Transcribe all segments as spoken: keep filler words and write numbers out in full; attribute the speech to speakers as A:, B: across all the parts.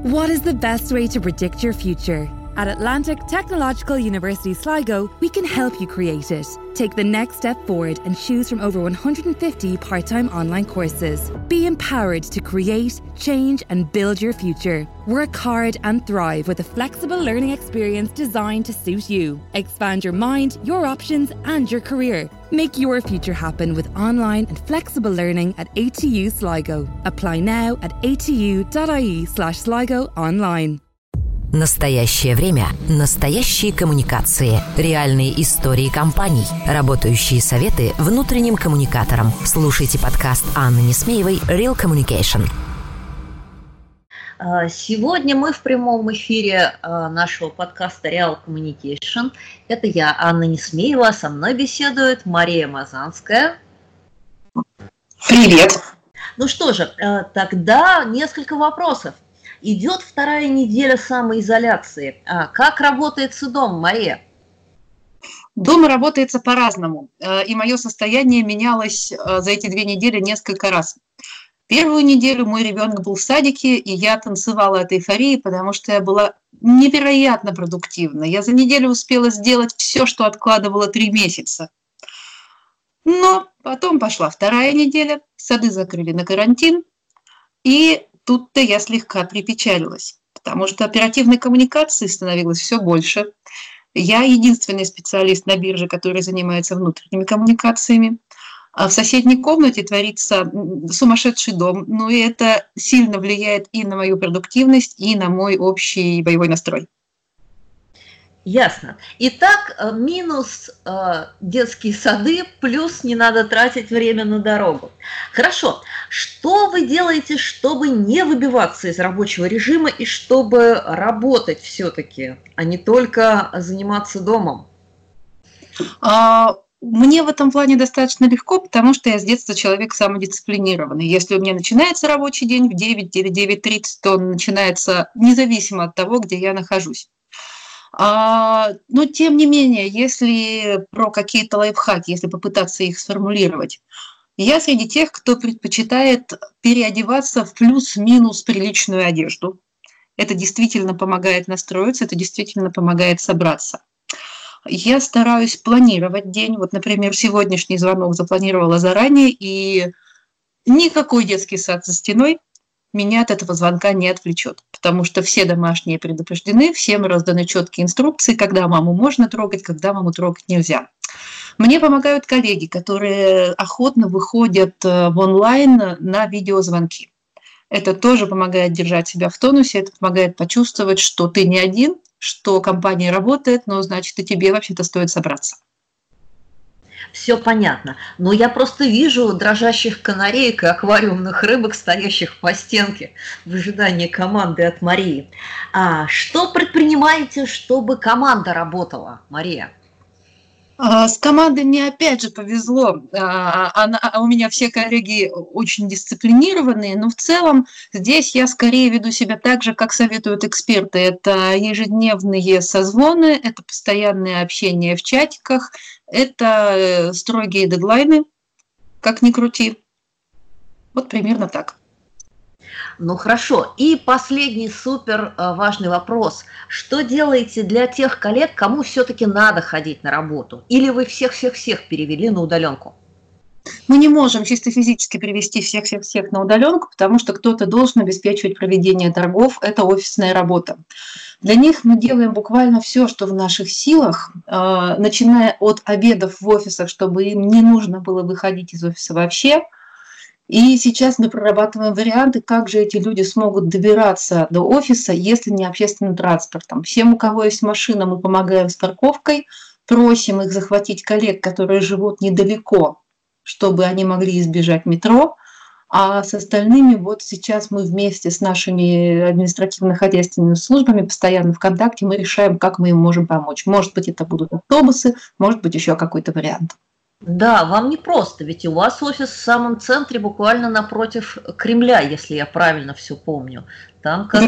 A: What is the best way to predict your future? At Atlantic Technological University Sligo, we can help you create it. Take the next step forward and choose from over one hundred fifty part-time online courses. Be empowered to create, change and build your future. Work hard and thrive with a flexible learning experience designed to suit you. Expand your mind, your options and your career. Make your future happen with online and flexible learning at A T U Sligo. Apply now at atu.ie slash Sligo online.
B: Настоящее время, настоящие коммуникации, реальные истории компаний, работающие советы внутренним коммуникаторам. Слушайте подкаст Анны Несмеевой «Real Communication».
C: Сегодня мы в прямом эфире нашего подкаста Real Communication. Это я, Анна Несмеева, со мной беседует Мария Мазанская.
D: Привет.
C: Ну что же, тогда несколько вопросов. Идет вторая неделя самоизоляции. А как работается дом, Мария?
D: Дома работается по-разному, и мое состояние менялось за эти две недели несколько раз. Первую неделю мой ребенок был в садике, и я танцевала от эйфории, потому что я была невероятно продуктивна. Я за неделю успела сделать все, что откладывала три месяца. Но потом пошла вторая неделя, сады закрыли на карантин, и тут-то я слегка припечалилась, потому что оперативной коммуникации становилось все больше. Я единственный специалист на бирже, который занимается внутренними коммуникациями. А в соседней комнате творится сумасшедший дом. Ну и это сильно влияет и на мою продуктивность, и на мой общий боевой настрой.
C: Ясно. Итак, минус э, детские сады, плюс не надо тратить время на дорогу. Хорошо. Что вы делаете, чтобы не выбиваться из рабочего режима и чтобы работать все-таки, а не только заниматься домом?
D: А, мне в этом плане достаточно легко, потому что я с детства человек самодисциплинированный. Если у меня начинается рабочий день в девять или девять тридцать, то он начинается независимо от того, где я нахожусь. А, но тем не менее, если про какие-то лайфхаки, если попытаться их сформулировать, я среди тех, кто предпочитает переодеваться в плюс-минус приличную одежду. Это действительно помогает настроиться, это действительно помогает собраться. Я стараюсь планировать день. Вот, например, сегодняшний звонок запланировала заранее, и никакой детский сад за стеной меня от этого звонка не отвлечет, потому что все домашние предупреждены, всем разданы четкие инструкции, когда маму можно трогать, когда маму трогать нельзя. Мне помогают коллеги, которые охотно выходят в онлайн на видеозвонки. Это тоже помогает держать себя в тонусе, это помогает почувствовать, что ты не один, что компания работает, но значит и тебе вообще-то стоит собраться.
C: Все понятно. Но я просто вижу дрожащих канареек и аквариумных рыбок, стоящих по стенке в ожидании команды от Марии. А что предпринимаете, чтобы команда работала, Мария?
D: С командой мне опять же повезло. Она, у меня все коллеги очень дисциплинированные, но в целом здесь я скорее веду себя так же, как советуют эксперты. Это ежедневные созвоны, это постоянное общение в чатиках, это строгие дедлайны, как ни крути. Вот примерно так.
C: Ну хорошо. И последний супер важный вопрос. Что делаете для тех коллег, кому все-таки надо ходить на работу? Или вы всех-всех-всех перевели на удаленку?
D: Мы не можем чисто физически перевести всех-всех-всех на удаленку, потому что кто-то должен обеспечивать проведение торгов. Это офисная работа. Для них мы делаем буквально все, что в наших силах, начиная от обедов в офисах, чтобы им не нужно было выходить из офиса вообще. И сейчас мы прорабатываем варианты, как же эти люди смогут добираться до офиса, если не общественным транспортом. Всем, у кого есть машина, мы помогаем с парковкой, просим их захватить коллег, которые живут недалеко, чтобы они могли избежать метро. А с остальными вот сейчас мы вместе с нашими административно-хозяйственными службами постоянно в контакте, мы решаем, как мы им можем помочь. Может быть, это будут автобусы, может быть, еще какой-то вариант.
C: Да, вам не просто, ведь у вас офис в самом центре, буквально напротив Кремля, если я правильно все помню. Там как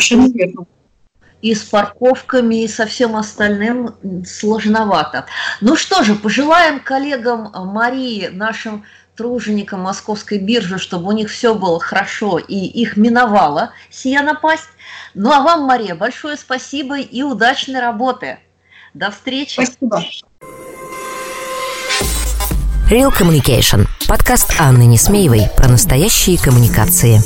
C: и с парковками, и со всем остальным сложновато. Ну что же, пожелаем коллегам Марии, нашим труженикам Московской биржи, чтобы у них все было хорошо и их миновала сия напасть. Ну а вам, Мария, большое спасибо и удачной работы. До встречи.
D: Спасибо.
B: Real Communication. Подкаст Анны Несмеевой про настоящие коммуникации.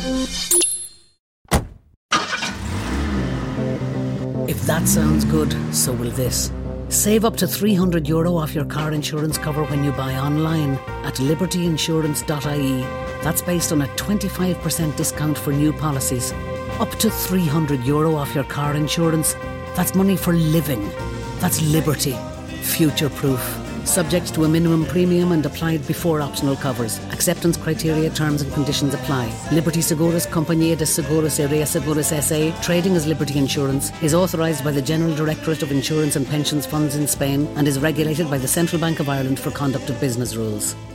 E: If that sounds good, so will this. Save up to three hundred euro off your car insurance cover when you buy online at liberty insurance dot I E. That's based on a twenty-five percent discount for new policies. Up to three hundred euro off your car insurance. That's money for living. That's liberty. Future-proof. Subject to a minimum premium and applied before optional covers. Acceptance criteria, terms and conditions apply. Liberty Seguros Compañía de Seguros y Reaseguros S A, trading as Liberty Insurance, is authorised by the General Directorate of Insurance and Pensions Funds in Spain and is regulated by the Central Bank of Ireland for conduct of business rules.